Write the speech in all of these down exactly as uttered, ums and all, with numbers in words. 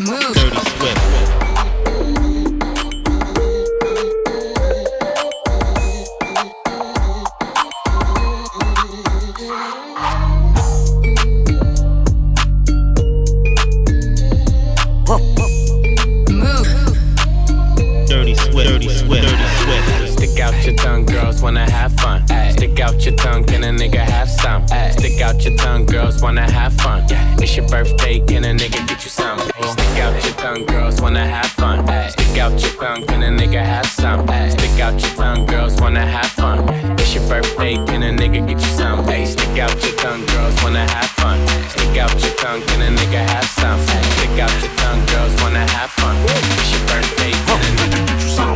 Move. Dirty Swift. Your tongue, girls wanna have fun. Ay. Stick out your tongue, can a nigga have some? Ay. Stick out your tongue, girls wanna have fun. Yeah. It's your birthday, can a nigga get you some? Ay. Stick out your tongue, girls wanna have fun. Ay. Stick out your tongue, can a nigga have some? Ay. Stick out your tongue, girls wanna have fun. It's your birthday, can a nigga get you some? Ay. Stick out your tongue, girls wanna have fun. Stick out your tongue, can a nigga have some? Ay. Stick out your tongue, girls wanna have fun. It's your birthday, can a nigga get you some?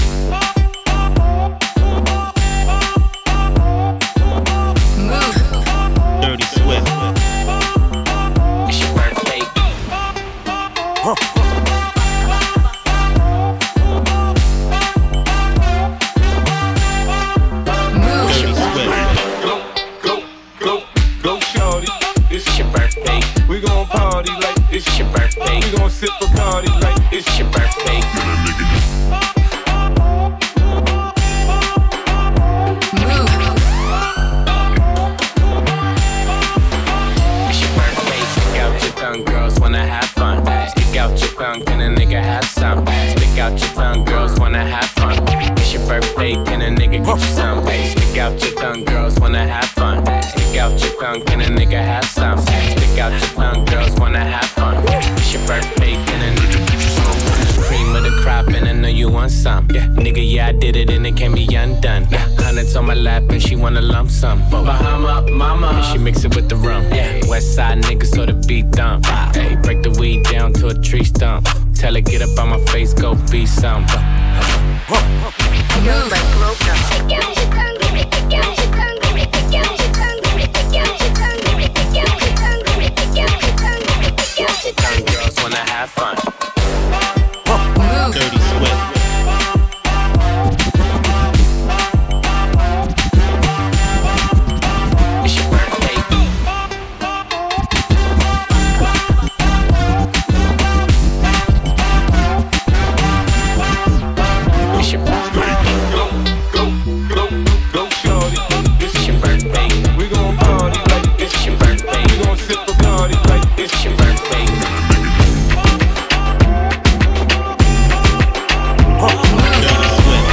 Dirty Swift. It's your birthday. Huh. Dirty Swift. Go, go, go, go, shorty. It's your birthday. We gon' party like it's It's your birthday. We gon' sip Bacardi like it's It's your birthday. Girls wanna have fun. Stick out your tongue, can a nigga have some? Stick out your tongue, girls wanna have fun. It's your birthday, can a nigga get you some? Stick out your tongue, girls wanna have fun. Stick out your tongue, can a nigga have some? Stick out your tongue, girls wanna have fun. It's your birthday, can a nigga get you some? Cream of the crop, and I know you want some. Yeah, nigga, yeah, I did it, and it can't be undone. Yeah, hundreds on my lap, and she wanna lump sum. Bahama, mama, and she mix it with the rum. Yeah, West Side niggas, so the beat dump. Hey, break the weed down to a tree stump. Tell her get up on my face, go be some. Move like broke up. Stick out your tongue, stick out your tongue, stick out your tongue, stick out your tongue, stick out your tongue, stick out your tongue, stick out your tongue. Girls wanna have fun. Move. Dirty Swift. It's your birthday. It's your birthday. Go, go, go, go, shorty. It's your birthday. We gon' party like it's It's your birthday. We gon' sip Bacardi like it's It's your birthday. Dirty Swift.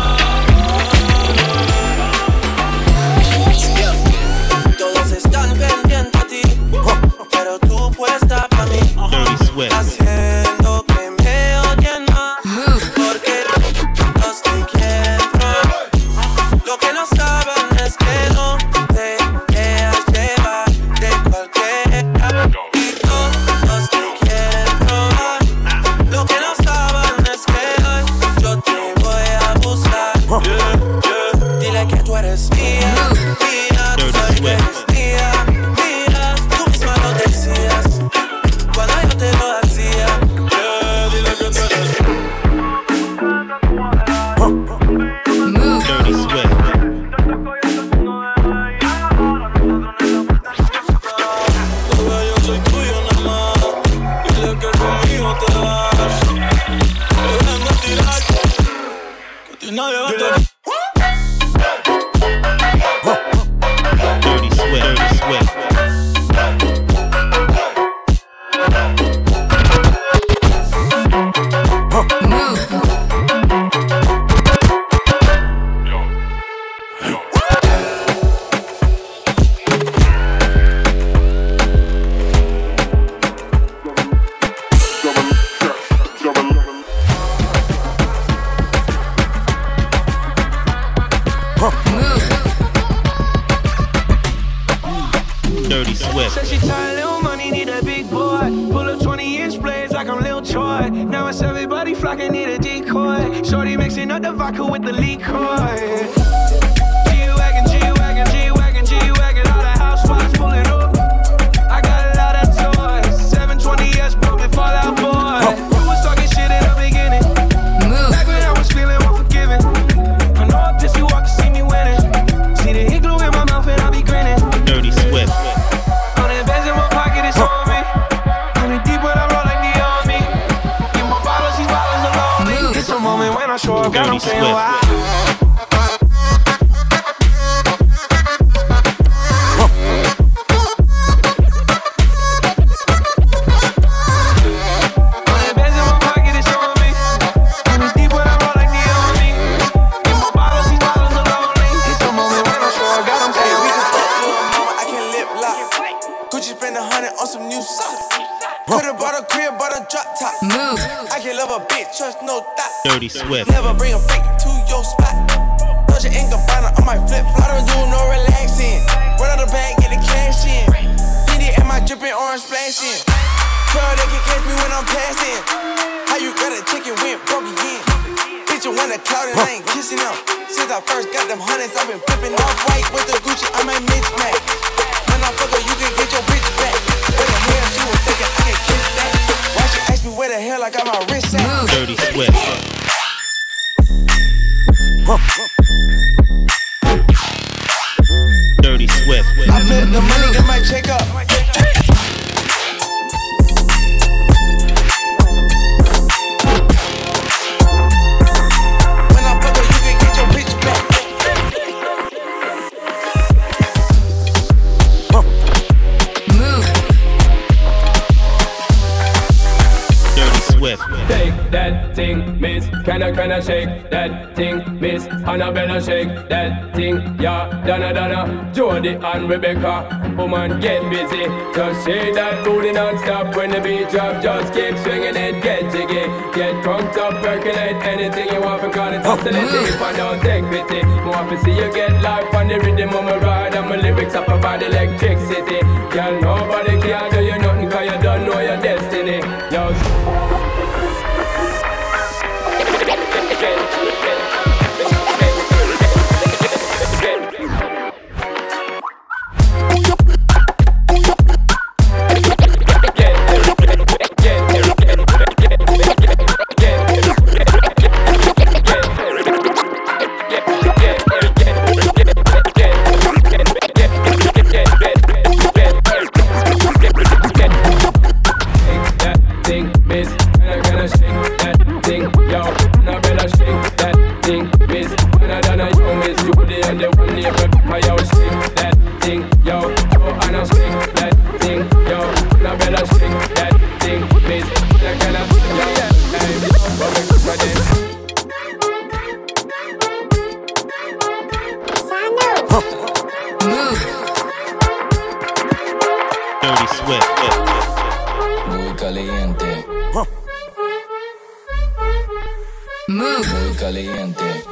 Todos están pendientes a ti, pero tú puesta pa' mí, Dirty Swift. haciendo que me odien más, porque los te quiero. Lo que no saben es que no te dejas llevar de cualquiera, y todos te quieren probar. Lo que no saben es que hoy yo te voy a buscar. Yeah, yeah. Dile que tú eres mía, mía, tú sabes que eres mía, mía. Tú misma lo decías cuando yo te lo hacía. Yeah, dile que tú eres Move. Dirty Swift. Bebé, yo soy tuyo nada más. Dile que conmigo te vas. Dejen de tirar, que a ti nadie va a tocar. Dirty Swift. Dirty Swift. Dirty Swift. Said she tired, little money, need a big boy. Pull up twenty inch blades like I'm Lil Troy. Now it's everybody flocking, need a decoy. Shorty mixing up the vodka with the liquor. G-Wagon, G-Wagon, G-Wagon, G-Wagon. All the housewives pulling up. I got a lot of toys. seven twenty S bumping Fallout Boy. You was talking shit in the beginning. Back when I was feeling unforgiving. I know up this you walk to see me winning. See the igloo in my mouth and I be grinning. Dirty Swift. On the bench in my pocket, it's on me. On the deep when I roll like the army. I'm saying Swift. why. Move. I can love a bitch, trust no thought. Dirty Swift. Never bring a freak to your spot. Doja and Gabbana on my flip flop. I don't do no relaxing. Run out the bag, get the cash in. Diddy and my dripping orange splashing. Girl, they can catch me when I'm passing. How you got a chicken went broke again? Bitch, you want a cloud and I ain't kissing them. Since I first got them hundreds, I've been flipping off white with the Gucci. I'm a mismatch. When I fuck her, you can get your bitch back. Where the hell she was thinking I can kiss that? Why she ask me where the hell I got my wrist at? Dirty Swift. Dirty Swift. I bet the money get my check up. When I fuck her, you can get your bitch back. Move. Dirty Swift. Take that thing, miss. Can I, can I shake that thing, miss? Annabella shake that thing, yeah. Donna, Donna, Jody and Rebecca. Woman, get busy. Just shake that booty non-stop. When the beat drop, just keep swinging it. Get jiggy, get crunked up, percolate. Anything you want, because it's hostility. If I don't take pity, more to see you get life on the rhythm of my ride. And my lyrics up about electricity. Girl, nobody can do you nothing, cause you don't know your destiny. Yo, Dirty Swift. Muy caliente. Move. Muy caliente.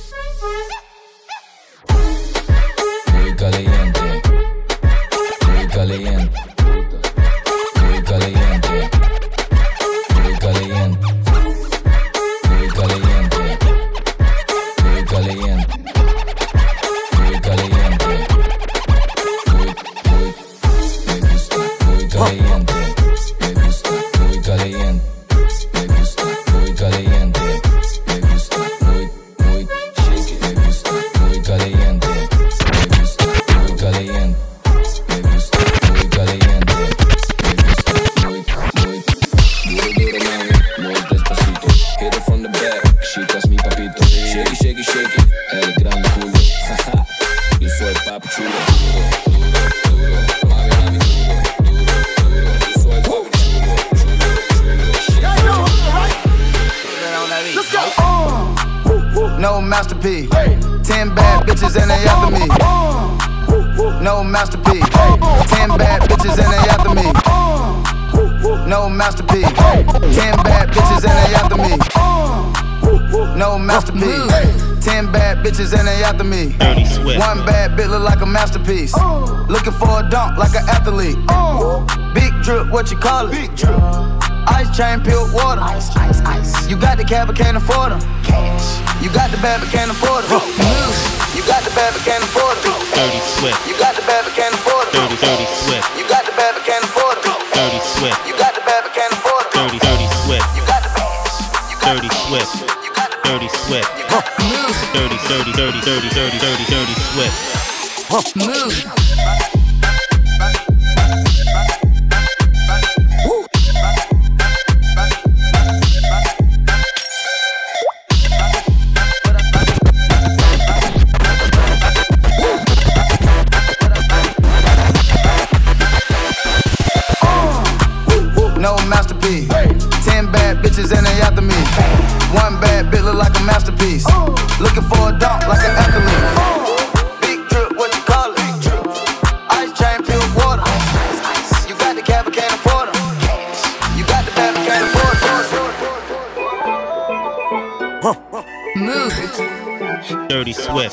Muy caliente. Muy caliente. Muy caliente. Muy caliente. Muy caliente. Muy caliente. Muy caliente. Muy, muy, me gusta. Muy caliente. Me gusta. Muy caliente. Me gusta. Muy caliente. Me gusta. Muy, muy, shake it. Me gusta. Muy caliente. Me gusta. Muy caliente. Me gusta. Muy caliente. Me gusta. Muy, muy duro, duro, mami. Muy despacito. Hit it from the back. Chicas, mi papito. Shake it, shake it, shake it. El gran culo. Jaja. Yo soy papi chulo. Duro, duro, duro. Mami, mami, duro, duro, duro. Yo soy papi chulo, chulo, chulo. Yeah, you know, right? Let's go. No masterpiece. Ten bad bitches and they after me. No masterpiece. Ten bad bitches and they after me. No masterpiece. Ten bad bitches and they after me. No masterpiece. Ten bad bitches and they after me. Dirty Swift. One bad bitch look like a masterpiece. Looking for a dunk like an athlete. Big drip, what you call it? Big drip. Ice chain, peeled water. Ice, ice, ice. You got the cab, but can't afford them. Cash. You got the bad, but can't afford it. You got the bad, but can't afford it. Dirty Swift. You got the bad, but can't afford it. Dirty, dirty Swift. You got the bad, but can't afford it. Dirty Swift. You got the bad, but can't afford it. Dirty, dirty Swift. You got the bad. You got Dirty Swift. You got the Dirty Swift. You got the Dirty, dirty, dirty, dirty, dirty, dirty, dirty Swift. Move. Dirty Swift.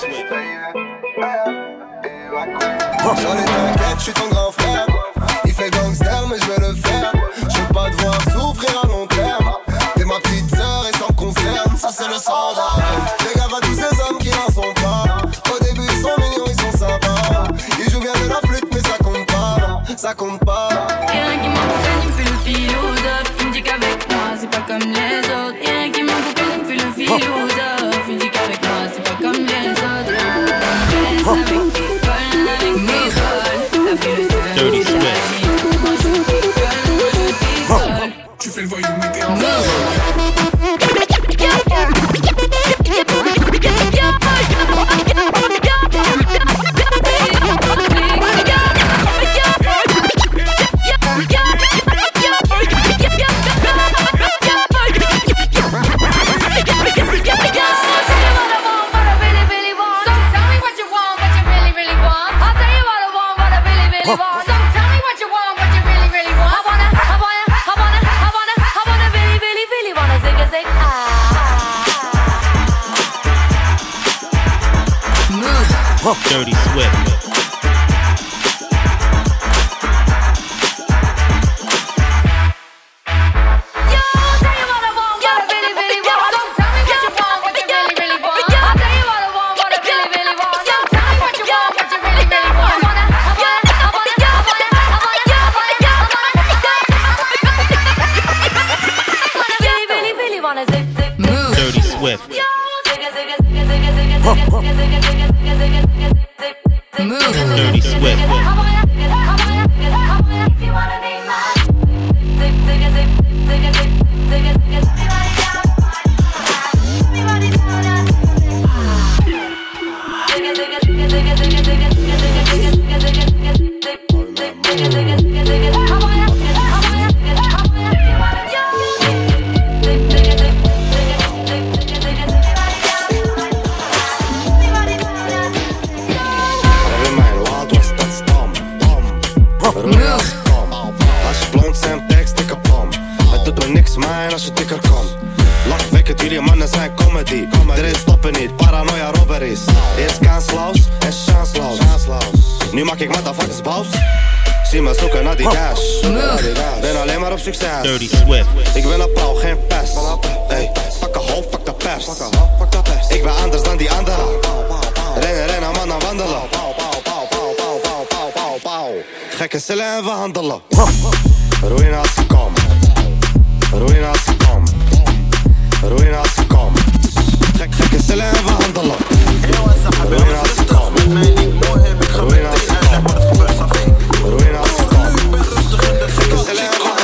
J'en ai t'inquiète, je suis ton grand frère. Il fait gangster, mais je vais le faire. Je veux pas devoir souffrir à long terme. T'es ma petite sœur et ça me concerne. Ça, c'est le standard. Fais gaffe à tous ces hommes qui n'en sont pas. Au début, ils sont mignons, ils sont sympas. Ils jouent bien de la flûte, mais ça compte pas. Ça compte pas. Rien qui m'accompagne, il me fait le philosophe. Il me dit qu'avec moi, c'est pas comme les autres. Rien qui m'accompagne, il me fait le philosophe. Il me dit qu'avec moi, c'est pas comme les autres. Reste avec tes folles, avec mes folles. T'as fait le seul. Dirty Swift. Moi je picole, moi je picole. Tu fais le voyou, mais t'es en Dirty Swift. Dirty Swift. Dirty Swift. Als je blond zijn, tekst ik op om. Het doet me niks, man, als je dikker komt. Lachwekkend, jullie mannen zijn comedy. Erin stoppen niet, paranoia robberies. Eerst kansloos en chansloos. Nu maak ik motherfuckers boos. Zie me zoeken naar die cash. Ben alleen maar op succes. Dirty Swift. Ik ben een pauw, geen pest. Hey, fuck a hoe, fuck de pers. Ik ben anders dan die anderen. Rennen, rennen, mannen wandelen. Gekke cellen en we handelen. Ruïnatie kom. Ruïnatie kom. Ruïnatie kom. Gek, gekke cellen en we handelen. Ruïnatie kom. Ruïnatie kom. Ruïnatie kom. Gekke cellen en we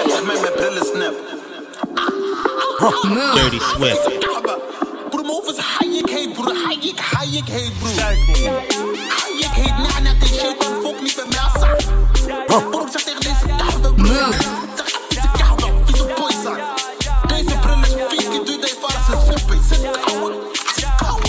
handelen. Dirty Swift. Broer, mijn hoofd is hayek heet, broer. Hayek, hayek heet, broer. Hayek heet, na, na, die shit. En fok niet bij mij assa. Broer, zeg tegen deze koude, broer. Zeg af, vieze koude, vieze boy zijn. Deze bril is vies, die doet deze vader zijn zippen. Zit koude, zit koude.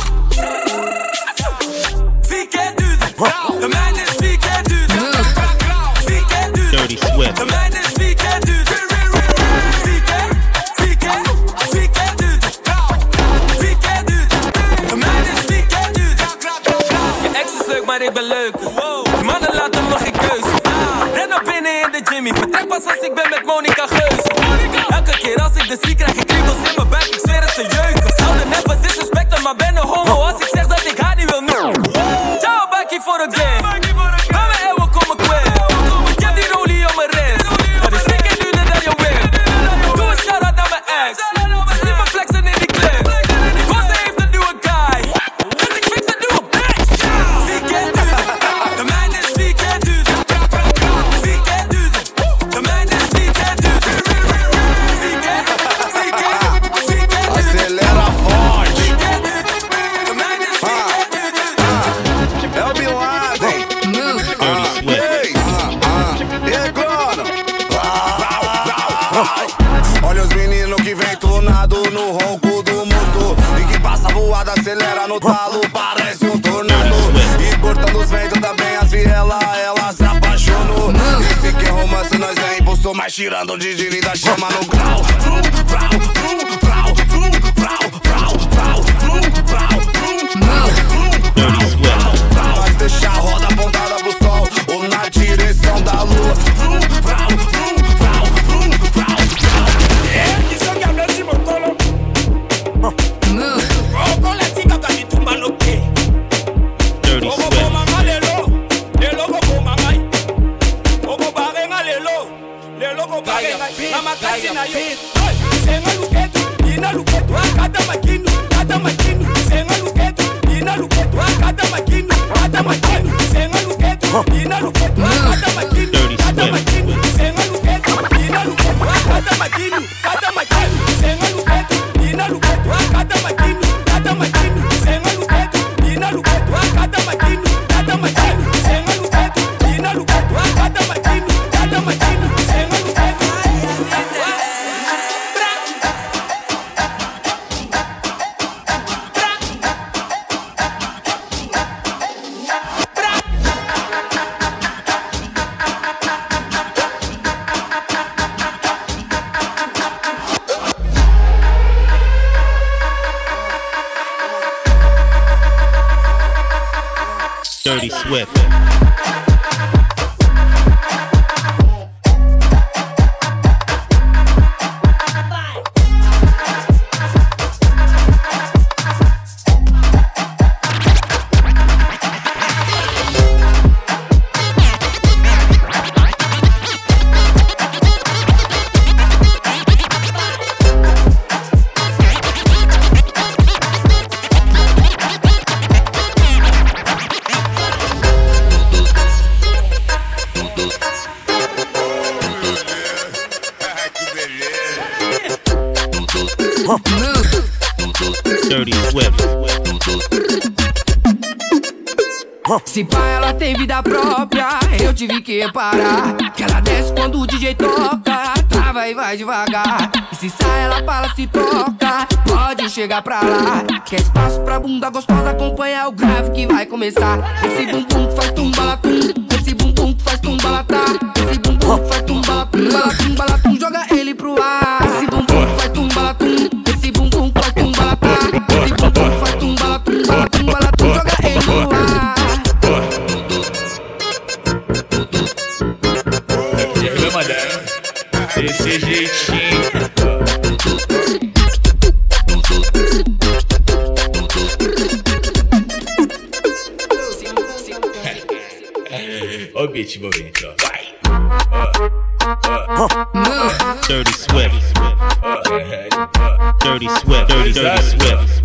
Vier keer duurder. De mijne is vier keer duurder. Vier keer duurder. Dirty Swift. De mijne is vier keer duurder. Vier keer, vier keer, vier keer duurder. Vier keer duurder. De mijne is vier keer duurder. Je ex is leuk, maar ik ben leuker. Die mannen laten me geen keuze. Ren naar binnen in de Jimmy. Vertrek pas als ik ben met Monica Geus. Elke keer als ik de zie krijg ik kriebels in mijn buik. Ik zweer het ze jeuken. Zou er never disrespecten, maar ben een homo. Als ik zeg dat ik haar niet wil noemen. Ciao, bakkie voor de game. Ga me eeuwen komen kwijt. Ik heb die rolie op mijn rest. Dat is vier keer duurder dan je win. Doe een shout-out naar mijn ex. Ze zien me flexen in die clip. Die was heeft een nieuwe guy. Dus ik fix een nieuwe bitch. Vier keer duurder. De mijne is vier keer duurder. Vier keer duurder. De mijne is vier keer duurder. Vier keer, vier keer, vier keer duurder. Acelera forte. Vier keer duurder. De mijne is vier keer duurder. É o Bin Laden. Dirty Swift. E aí, clona? Olha os meninos que vem tunado no ronco do motor. E que passa voada, acelera no talo, parece um tornado. E cortando os ventos também as vielas, ela se apaixonou. Esse que é romance, nós é impulsor, mas tirando o Didi e da chama no grau. Vrum, vrau, vrum, vrau, vrum, vrau, vrau, vrau, vrum, vrau, vrum. Dirty Swift. Dirty Swift. Dirty Swift. Se pá, ela tem vida própria, eu tive que reparar que ela desce quando o D J toca, trava e vai devagar. E se sai, ela fala, se toca, pode chegar pra lá. Quer espaço pra bunda gostosa, acompanha o grave que vai começar. Esse bumbum que faz tumbalatum, esse bumbum que faz tumbalatá, esse bumbum que faz tumbalatum, balatum, balatum, joga ele pro ar. Esse bumbum que faz tumbalatum, esse bumbum que faz tumbalatá, esse bumbum que faz tumbalatum, balatum, balatum, joga ele pro ar. Desse jeitinho. Ó o beat envolvente, ó. Vai. Dirty Swift. Dirty Swift. Dirty, dirty Swift.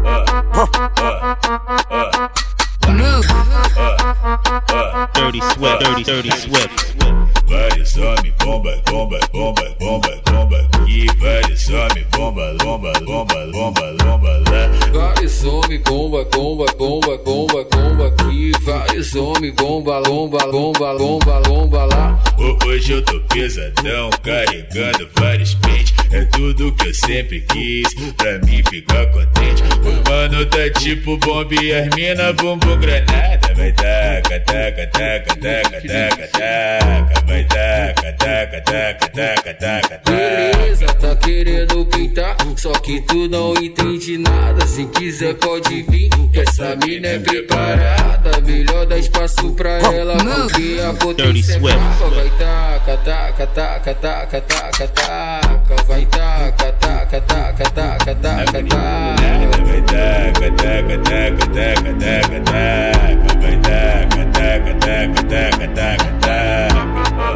Dirty Swift. Dirty, dirty Swift. Vários homens, bomba, bomba, bomba, bomba, bomba aqui. Vários homens, bomba, bomba, bomba, bomba, bomba lá. Vários homens, bomba, bomba, bomba, bomba, bomba aqui. Vários homens, bomba, bomba, bomba, bomba, bomba lá. Hoje eu tô pesadão, carregando vários pentes. É tudo que eu sempre quis, pra mim ficar contente. O mano tá tipo bomba e as mina bumbum granada. Vai taca, taca, taca, taca, taca, taca. Vai taca, taca, taca, taca, taca, taca. Beleza, tá querendo pintar, só que tu não entende nada. Se quiser pode vir, que essa mina é preparada. Melhor dar espaço pra ela, porque a potência é brava. Vai taca, taca, taca, taca, taca, taca. Vai taca, taca, taca, taca, taca, taca. Vai taca, taca, taca, taca, taca, taca. Vai taca, taca, taca, taca, taca, taca.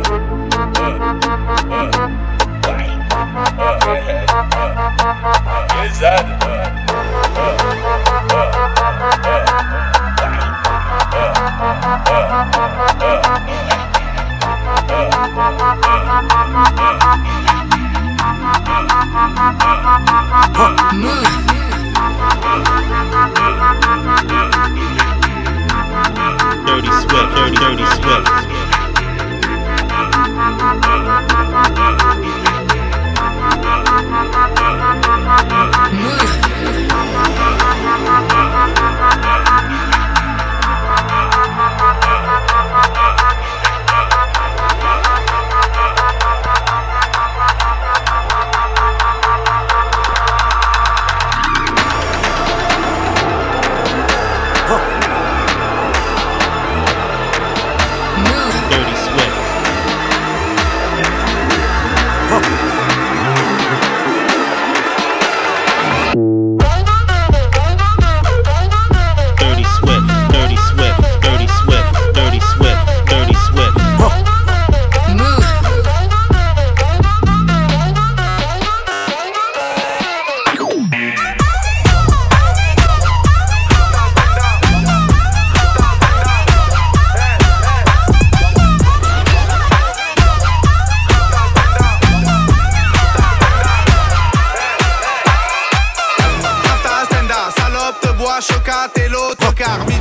Pesado, Dirty Swift. Dirty, dirty Swift. Move.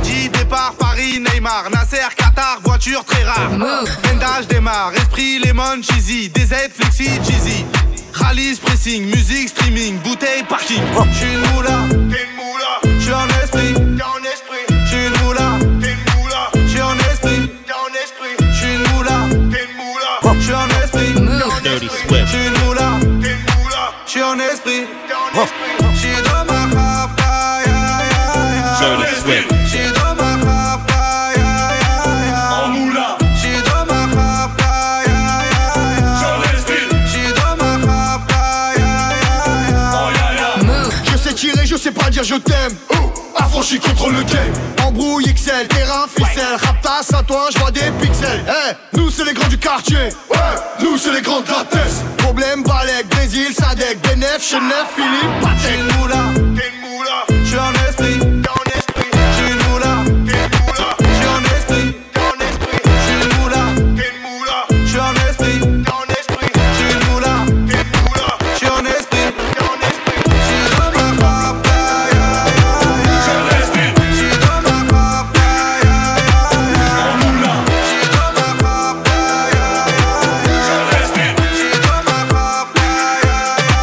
Fidji, départ, Paris, Neymar, Nasser, Qatar, voiture très rare. Vendage démarre, esprit, lemon, cheesy, D Z, flexi, cheesy. Rallye, pressing, musique, streaming, bouteille, parking. J'suis une moula, t'es une moula. J'suis en esprit, t'es en esprit. J'suis une moula, t'es une moula. J'suis en esprit, t'es en esprit. J'suis une moula, t'es une moula. J'suis en esprit, Dirty Swift. j'suis une moula, t'es une moula. J'suis en esprit, t'es en esprit. J'suis dans ma rap, ya ya ya. Dirty Swift. J'suis dans ma rap, ya ya ya. En moula. J'suis dans ma rap, ya ya ya. J'en esprit. J'suis dans ma rap, ya ya ya. Oh ya ya. Je sais tirer, je sais pas dire je t'aime. Affranchi contre le game. Embrouille X L, terrain ficelle. Raptas à toi, j'vois des pixels. Hey, nous c'est les grands du quartier. Ouais, nous c'est les grands de la tête. Problème, Balek, Brésil, Sadek, Benef, Chenef, Philippe, Patek. J'suis une moula, t'es une moula. J'suis en esprit, t'es en esprit. J'suis une moula, t'es une moula. J'suis en esprit, t'es en esprit. J'suis une moula, t'es une moula. J'suis en esprit, t'es en esprit. J'suis une moula, t'es une moula. J'suis en esprit, t'es en esprit. J'suis dans ma rap, ya ya ya. J'suis en esprit. J'suis dans ma rap, ya ya ya. En moula. J'suis dans ma rap, ya ya ya. J'suis en esprit. J'suis dans ma rap, ya ya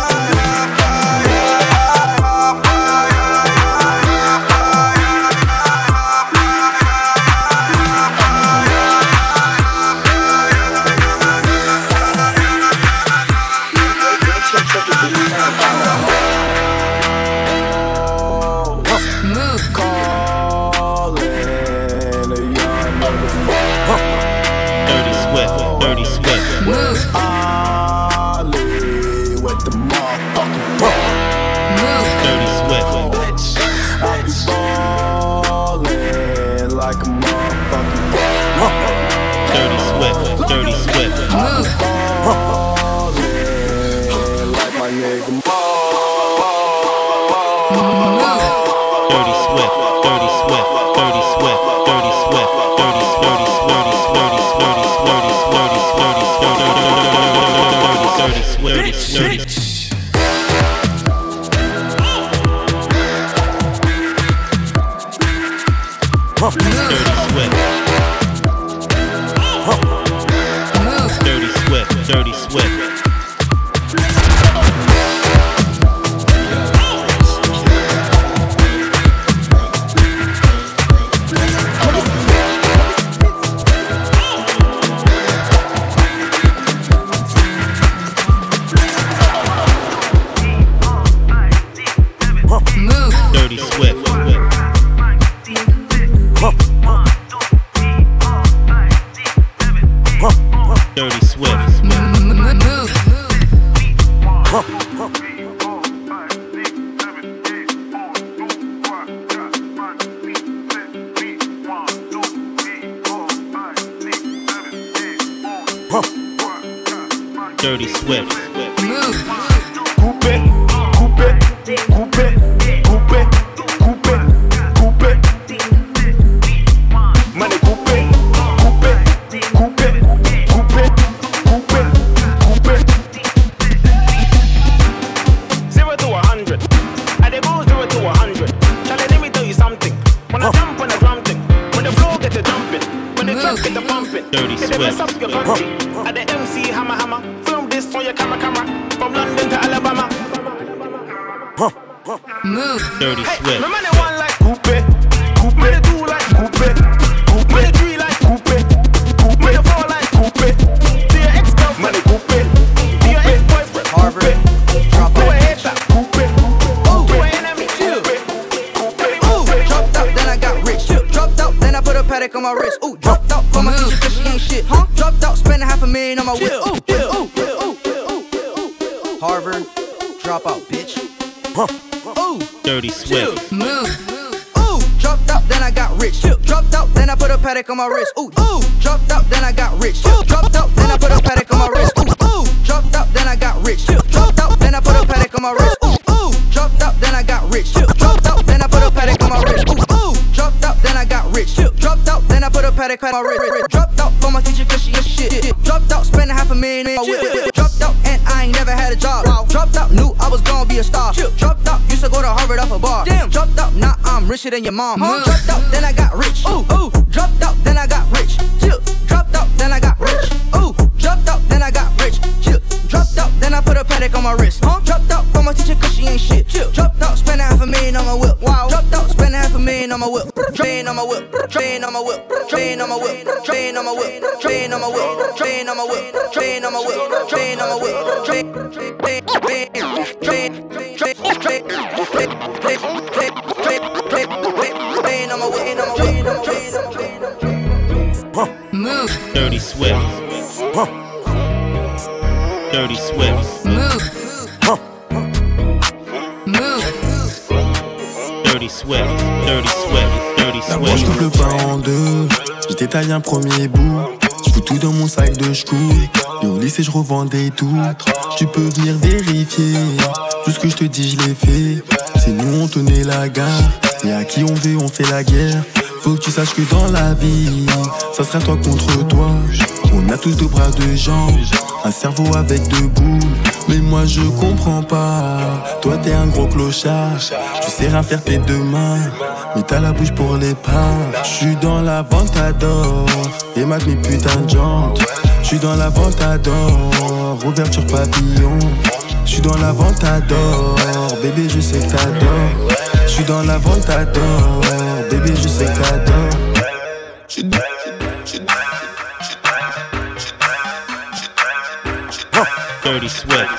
Dirty Swift. Dirty Swift. Ali with the motherfucking Dirty Swift. I be ballin' like a motherfucking Dirty Swift. Dirty Swift. ballin' like my nigga Mo. Dirty Swift. Dirty Swift. Dirty Swift. Dirty Swift. Dirty Dirty Dirty Dirty Dirty Dirty Dirty Dirty Dirty Dirty Dirty Dirty Swift. Dirty Swift. Dirty Swift. Dirty Swift. Dirty Swift. Coupé, coupé, coupé, coupé, coupé, coupé. Money coupé, coupé, coupé, coupé, coupé, coupé. Zero to a hundred, and they go zero to a hundred. Charlie, let me tell you something. When I jump on the drum thing, when the flow get to jumping, when the truck get to pumping, Dirty if they mess Swift. up your country, at the M C hammer hammer, film this on your camera camera, from London to Alabama. Move. Dirty Hey, Swift. my man they one like coupé, coupé, the two like coupé, coupé, the three like coupé, coupé, the four like coupé. To your ex-girlfriend, coupé, to your ex-boyfriend, Harvard, drop out, headshot, coupé, to an enemy, coupé, Ooh, dropped out, then I got rich. Dropped out, then I put a Patek on my wrist. Ooh, dropped out for my teacher cause she ain't shit. Huh? Dropped out, spending half a million on my whip. Ooh, ooh, ooh, ooh, ooh. Harvard, drop out, bitch. Ooh, Dirty Swift. move. Ooh, dropped out, then I got rich. Dropped out, then I put a Patek on my wrist. Ooh, ooh, dropped out, then I got rich. Dropped out, then I put a Patek on my wrist. Ooh, ooh, dropped out, then I got rich. Dropped out, then I put a Patek on my wrist. Ooh, ooh, dropped out, then I got rich. Dropped out, then I put a Patek on my wrist. Ooh, ooh, dropped out, then I got rich. Dropped out, then I put a Patek on my wrist. Dropped out for my teacher cause she ain't shit. Dropped out, spending half a million on my whip. Dropped out and I ain't never had a job. Dropped out, knew I was gonna be a star. Chill. Dropped out, used to go to Harvard off a bar. Damn. Dropped out, now I'm richer than your mom. Huh? Dropped out, then I got rich. Ooh, ooh. Dropped out, then I got rich. Chill. Dropped out, then I got rich. Ooh. Dropped out, then I got rich. Chill. Dropped out, then I put a Patek on my wrist. Huh? Dropped out, from my teacher cause she ain't shit. Chill. Dropped out, spend half a million on my whip. Wow. Dropped out, spend half a million on my whip. Train on my whip. Train on my whip. Train on my whip. Train on my whip. Train on my whip. Train on my whip. Train on my whip. Train on my whip. Train. Train. Train. Train. Train. Train. Train. Train. Train on my whip. Train on my whip. Move. Dirty Swift. Dirty Swift. Move. Move. Dirty Swift. Dirty Swift. Dirty La broche coupe le pain en deux. Je détaille un premier bout. Je fous tout dans mon sac de ch'cou. Et au lycée je revendais tout. Tu peux venir vérifier. Tout ce que je te dis je l'ai fait. C'est nous on tenait la gare. Et à qui on veut on fait la guerre. Faut que tu saches que dans la vie ça sera toi contre toi. On a tous deux bras, deux jambes, un cerveau avec deux boules. Mais moi je comprends pas. Toi t'es un gros clochard. Tu sais rien faire tes deux mains, mais t'as la bouche pour les parts. J'suis dans la Ventador et ma mes putain de jantes. J'suis dans la Ventador, ouverture papillon. J'suis dans la Ventador, bébé je sais que t'adores. J'suis dans la Ventador, bébé je sais que t'adores. J'suis dans Dirty Swift.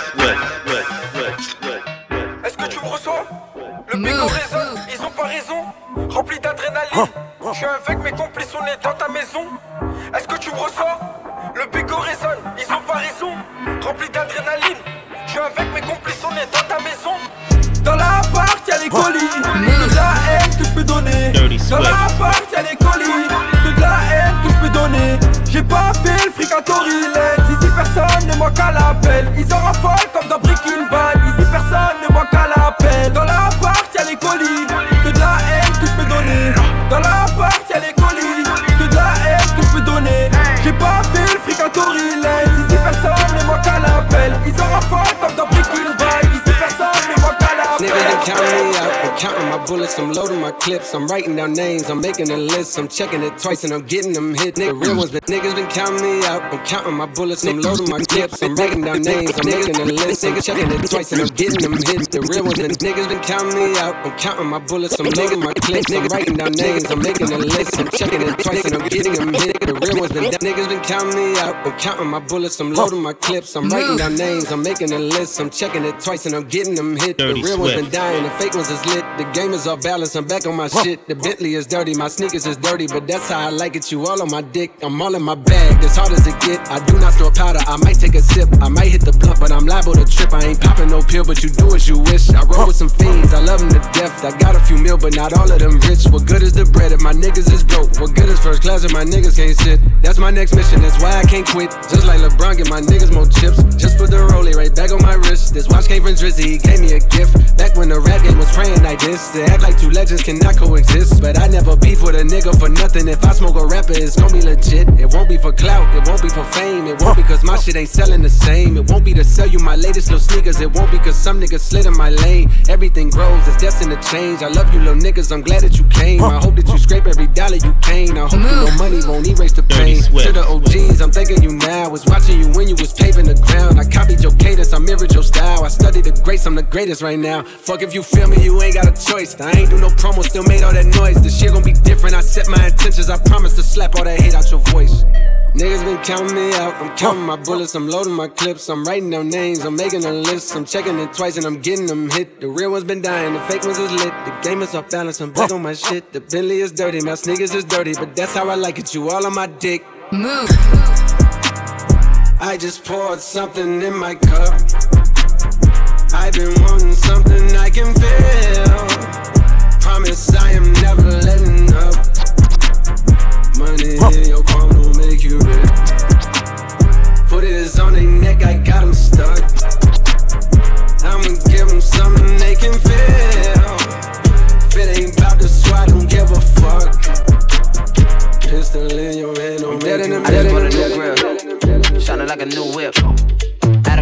Est-ce que tu me reçois? Le bigot raisonne, ils ont pas raison. Rempli d'adrénaline. Je suis avec mes complices, on est dans ta maison. Est-ce que tu me reçois? Le bigot résonne, ils ont pas raison. Rempli d'adrénaline. Je suis avec mes complices, on est dans ta maison. Dans l'appart, y'a les colis. Que de la haine que je peux donner. Dans l'appart, y'a les colis. Que de la haine que je peux donner. J'ai pas fait le fric à Torilette. Ici personne ne manque à l'appel. Ils en raffolent comme dans Breaking Bad. Ici personne ne manque à l'appel. Dans l'appart, y'a les colis. Que de la haine que je peux donner. Dans l'appart, y'a les colis. Que de la haine que je peux donner. J'ai pas fait le fric à Torilette. Ici personne ne manque à l'appel. Ils en raffolent comme dans Breaking Bad. Ici personne ne manque à l'appel. Niggas been counting me out, I'm counting my bullets, I'm loading my clips, I'm writing down names, I'm making a list, I'm checking it twice and I'm getting them hit. Nigga, real ones been niggas been counting me out, I'm counting my bullets, I'm loading my clips, I'm writing down names, I'm making a list, I'm checking it twice and I'm getting them hit. The real ones been niggas been counting me out, I'm counting my bullets, I'm loading my clips, I'm writing down names, I'm making a list, I'm checking it twice and I'm getting them hit. The real ones been niggas been counting me out, I'm counting my bullets, I'm loading my clips, I'm writing down names, I'm making a list, I'm checking it twice and I'm getting them hit. The real ones been dying, the fake ones is lit. The game is off balance, I'm back on my shit. The Bentley is dirty, my sneakers is dirty, but that's how I like it. You all on my dick, I'm all in my bag, as hard as it get. I do not store powder, I might take a sip, I might hit the blunt, but I'm liable to trip. I ain't popping no pill, but you do as you wish. I roll with some fiends, I love them to death. I got a few mil, but not all of them rich. What good is the bread if my niggas is broke? What good is first class if my niggas can't sit? That's my next mission, that's why I can't quit. Just like LeBron, get my niggas more chips. Just put the rollie right back on my wrist. This watch came from Drizzy, he gave me a gift. Back when the rap game was praying like this. They act like two legends cannot coexist. But I never beef with a nigga for nothing. If I smoke a rapper, it's gon' be legit. It won't be for clout, it won't be for fame. It won't be cause my shit ain't selling the same. It won't be to sell you my latest little sneakers. It won't be cause some niggas slid in my lane. Everything grows, it's destined to change. I love you little niggas, I'm glad that you came. I hope that you scrape every dollar you came. I hope you know money won't erase the pain. To the O Gs, I'm thanking you now. Was watching you when you was paving the ground. I copied your cadence, I mirrored your style. I studied the greats, I'm the greatest right now. Fuck if you feel me, you ain't got a choice. I ain't do no promo, still made all that noise. This shit gon' be different, I set my intentions. I promise to slap all that hate out your voice. Niggas been counting me out, I'm counting my bullets, I'm loading my clips, I'm writing down names, I'm making a list, I'm checking it twice and I'm getting them hit. The real ones been dying, the fake ones is lit, the game is off balance, I'm back on my shit. The Bentley is dirty, my sneakers is dirty, but that's how I like it, you all on my dick. Move. I just poured something in my cup. I've been wanting something I can feel. Promise I am never letting up. Money in your palm don't make you rich. Foot is on their neck, I got them stuck. I'ma give them something they can feel. If it ain't about the swat, don't give a fuck. Pistol in your hand, don't make you rich. I just bought a new grill, shining like a new whip. Adam got a new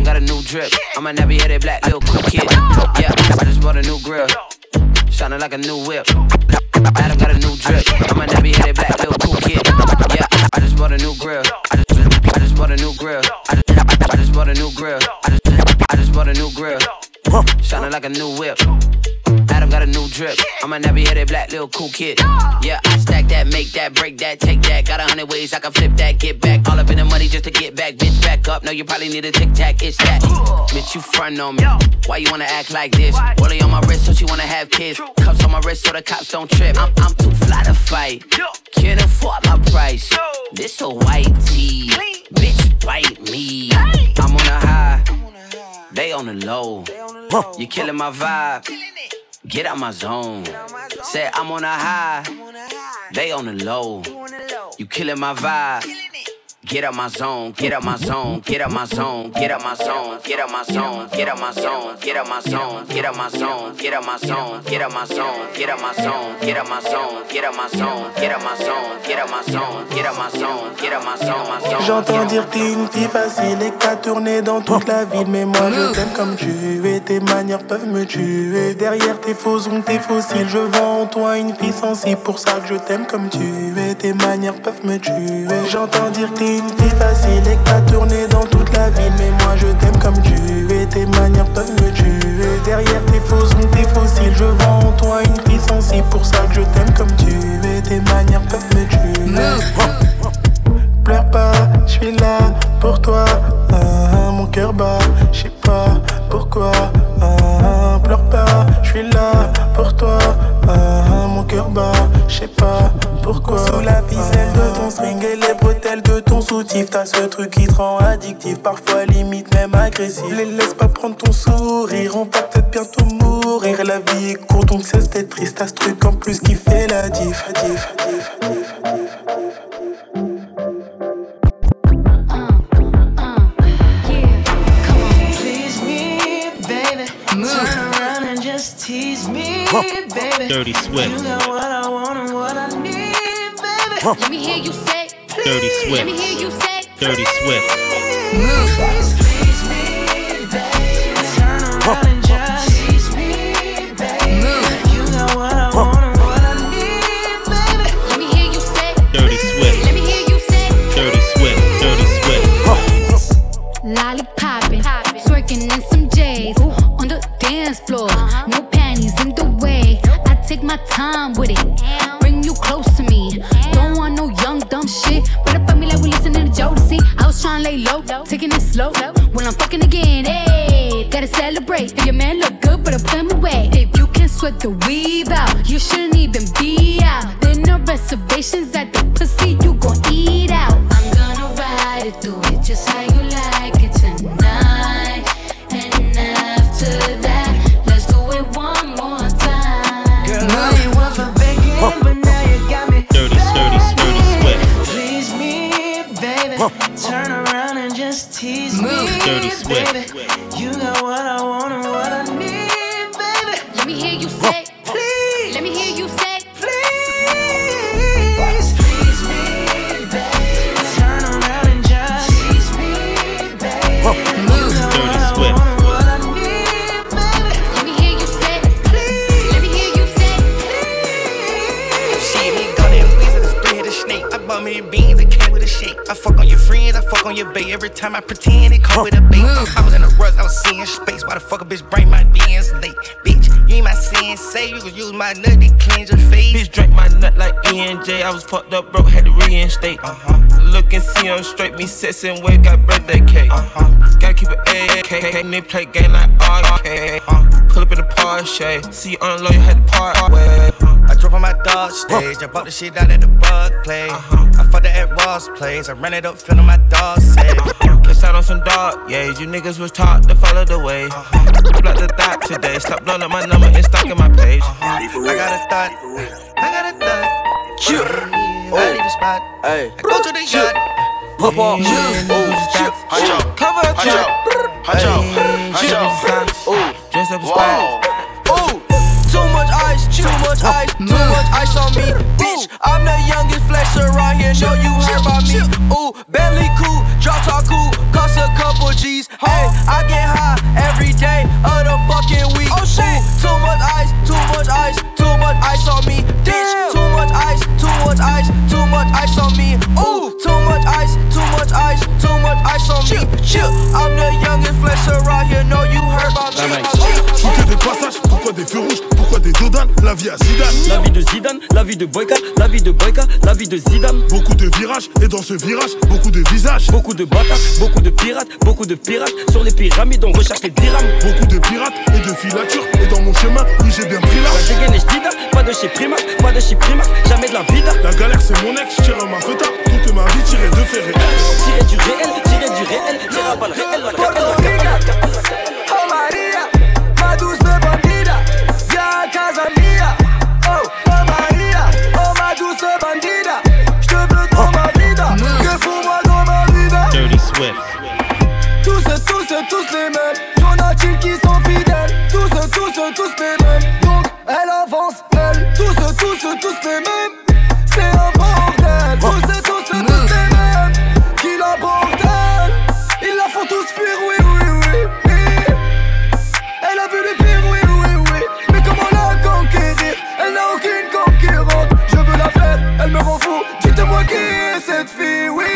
drip. I'm a nappy headed black little cool kid. Yeah, I just bought a new grill. Shining like a new whip. Adam got a new drip. I'm a nappy headed black little cool kid. Yeah, I just bought a new grill. I just, I just bought a new grill. I just, I just bought a new grill. I just, I just bought a new grill. Shining like a new whip. Adam got a new drip. I'm a nappy headed black little cool kid. Yeah, I stack that, make that, break that, take that. Got a hundred ways I can flip that, get back. All up in the money just to get back, bitch, back up. No, you probably need a tic tac, it's that. Bitch, you front on me. Why you wanna act like this? Rollie on my wrist, so she wanna have kids. Cuffs on my wrist, so the cops don't trip. I'm, I'm too fly to fight. Can't afford my price. This a white tee. Bitch, bite me. I'm on a high. They on the low. You killing my vibe. Get out my zone. Say I'm on a high. They on the low. You killing my vibe. Get out my zone, get out my zone, get out my zone, get out my zone, get out my zone, get out my zone, get out my zone, get out my zone, get out my zone, get out my zone, get out my zone, get out my zone, get out my zone, get out my zone, get out my zone, get out my zone, get out my zone, my zone. J'entends dire que t'es une fille facile et que t'as tourné dans toute la ville, mais moi je t'aime comme tu es, tes manières peuvent me tuer. Derrière tes faux ongles, tes fossiles, je vois en toi une fille sensible, pour ça que je t'aime comme tu es, tes manières peuvent me tuer. J'entends dire que t'es une fille facile et que t'as tourné dans toute la ville, mais moi je t'aime comme tu es, tes manières peuvent me tuer. Derrière tes faux ongles, tes fossiles, je vois en toi une fille sensible, pour ça que je t'aime comme tu es, tes manières peuvent me tuer. Pleure pas, je suis là pour toi, ah, mon cœur bat, je sais pas pourquoi, ah, pleure pas, je suis là pour toi, ah, mon cœur bat, je sais pas pourquoi. Sous la ficelle de ton string et les bretelles de ton soutif, t'as ce truc qui te rend addictif, parfois limite même agressif. Les laisse pas prendre ton sourire, on va peut-être bientôt mourir. La vie est courte donc cesse d'être triste, t'as ce truc en plus qui fait la diff, diff, diff, diff. Tease me, baby. Dirty Swift. You got what I want and what I need, baby. Let me hear you say, Dirty Swift. Let me hear you say, Dirty Swift. Move. Please me, baby. Turn around and just tease me, baby. Move. You got what I want and what I need, baby. Let me hear you say, Dirty Swift. Let me hear you say, Dirty Swift. Dirty Swift. Lollipoppin', twerking in some J's on the dance floor. No panties in the way. I take my time with it. Bring you close to me. Don't want no young dumb shit. Run up on me like we listening to Jodeci. I was trying to lay low, taking it slow. When I'm fucking again, hey, gotta celebrate. If your man look good, but I put him away. If you can sweat the weave out, you shouldn't even be out. There no reservations at the pussy, you gon' eat out. I'm gonna ride it, do it just how you like it tonight. And after that, let's do it one more time. Girl, I ain't one for begging, but now you got me. Dirty, dirty, dirty Swift. Please me, baby. Turn around and just tease me, Dirty Swift. baby. You got what I want and what I need, baby. Let me hear you say, please. Let me hear you say, please. Please me, baby. Turn around and just tease me, baby. You got what I want and what I need, baby. Let me hear you say, please. Let me hear you say, please. See me go there, squeeze it, a three-headed snake. I bought me the beans, it came with a shake. I fuck on your friends, I fuck on your bae. Every time I pretend, it come with a bait. I was in a rush, I was seeing space. Why the fuck a bitch bring my D Ns late? Bitch, you ain't my sensei. You gon' use my nut to cleanse your face. Bitch drank my nut like E N J. I was fucked up, broke, had to reinstate. Uh-huh. Look and see I'm straight, me sexin' wave, got birthday cake. Uh-huh. Gotta keep it A K, and they play game like R K. Uh, pull up in the Porsche, see you on the low, you had to part way. I drove on my dog stage, I bought the shit out at the bug play. Uh-huh. I fucked it at Ross Place, I ran it up, feeling my dog safe. Uh-huh. Kissed out on some dog, yeah, you niggas was taught to follow the way. Uh-huh. Block the thought today, stop blowing up my number and stalking my page. Uh-huh. I got a thought, I got a thought. Chill. I leave the spot, hey. I go to the yacht. Pop off, Hunch out, cover a hunch out, hunch out, hunch out. Ooh, dress up a spot. Ooh, too much ice, too much ice, too much ice on me, bitch. I'm the youngest flexer around here, know you heard about me. Ooh, Bentley cool, drop top cool, cost a couple G's. Hey, I get high every day of the fucking week. Oh shit, too much ice, too much ice, too much ice on me. Bitch, too much ice, too much ice, too much ice on me. Ooh, too much ice, too much ice, too much ice on me. Chill, I'm the youngest flexer around here. Know you heard about me. Faut que des passages, pourquoi des feux rouges, pourquoi des dodanes, la vie à Zidane. La vie de Zidane, la vie de Boyka, la vie de Boyka, la vie de Zidane. Beaucoup de virages, et dans ce virage, beaucoup de visages. Beaucoup de bâtards, beaucoup de pirates, beaucoup de pirates. Sur les pyramides, on recherche les dirhams. Beaucoup de pirates et de filatures, et dans mon chemin, oui j'ai bien pris l'âge. La dégaine et j'dida, pas de chez Primark, pas de chez Primark, jamais de la vida. La galère c'est mon ex, j'tire ma feuta, toute ma vie tirée de fait réel. Tirer du réel, tirer du réel, tirer à balle réel, la réel. Oh Maria, ma douce bandida, viens à casa mia. Oh, oh Maria, oh ma douce bandida, j'te veux dans ma vida, que pour moi dans ma vida. Dirty Swift. Tous, tous, tous les mêmes, y'en a-t-il qui sont fidèles. Tous, tous, tous les mêmes, donc elle avance, elle. Tous, tous, tous les mêmes, c'est un bordel. Tous, tous, tous les mêmes, qui la bordel. Ils la font tous fuir, oui, oui, oui, oui. Elle a vu les pires, oui, oui, oui. Mais comment la conquérir? Elle n'a aucune concurrente. Je veux la faire, elle me rend fou. Dites-moi qui est cette fille, oui.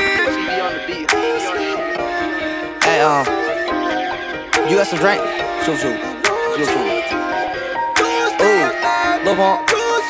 Hey, um, you got some drink? Shoot, shoot, shoot, shoot. Ooh, Lil Pump,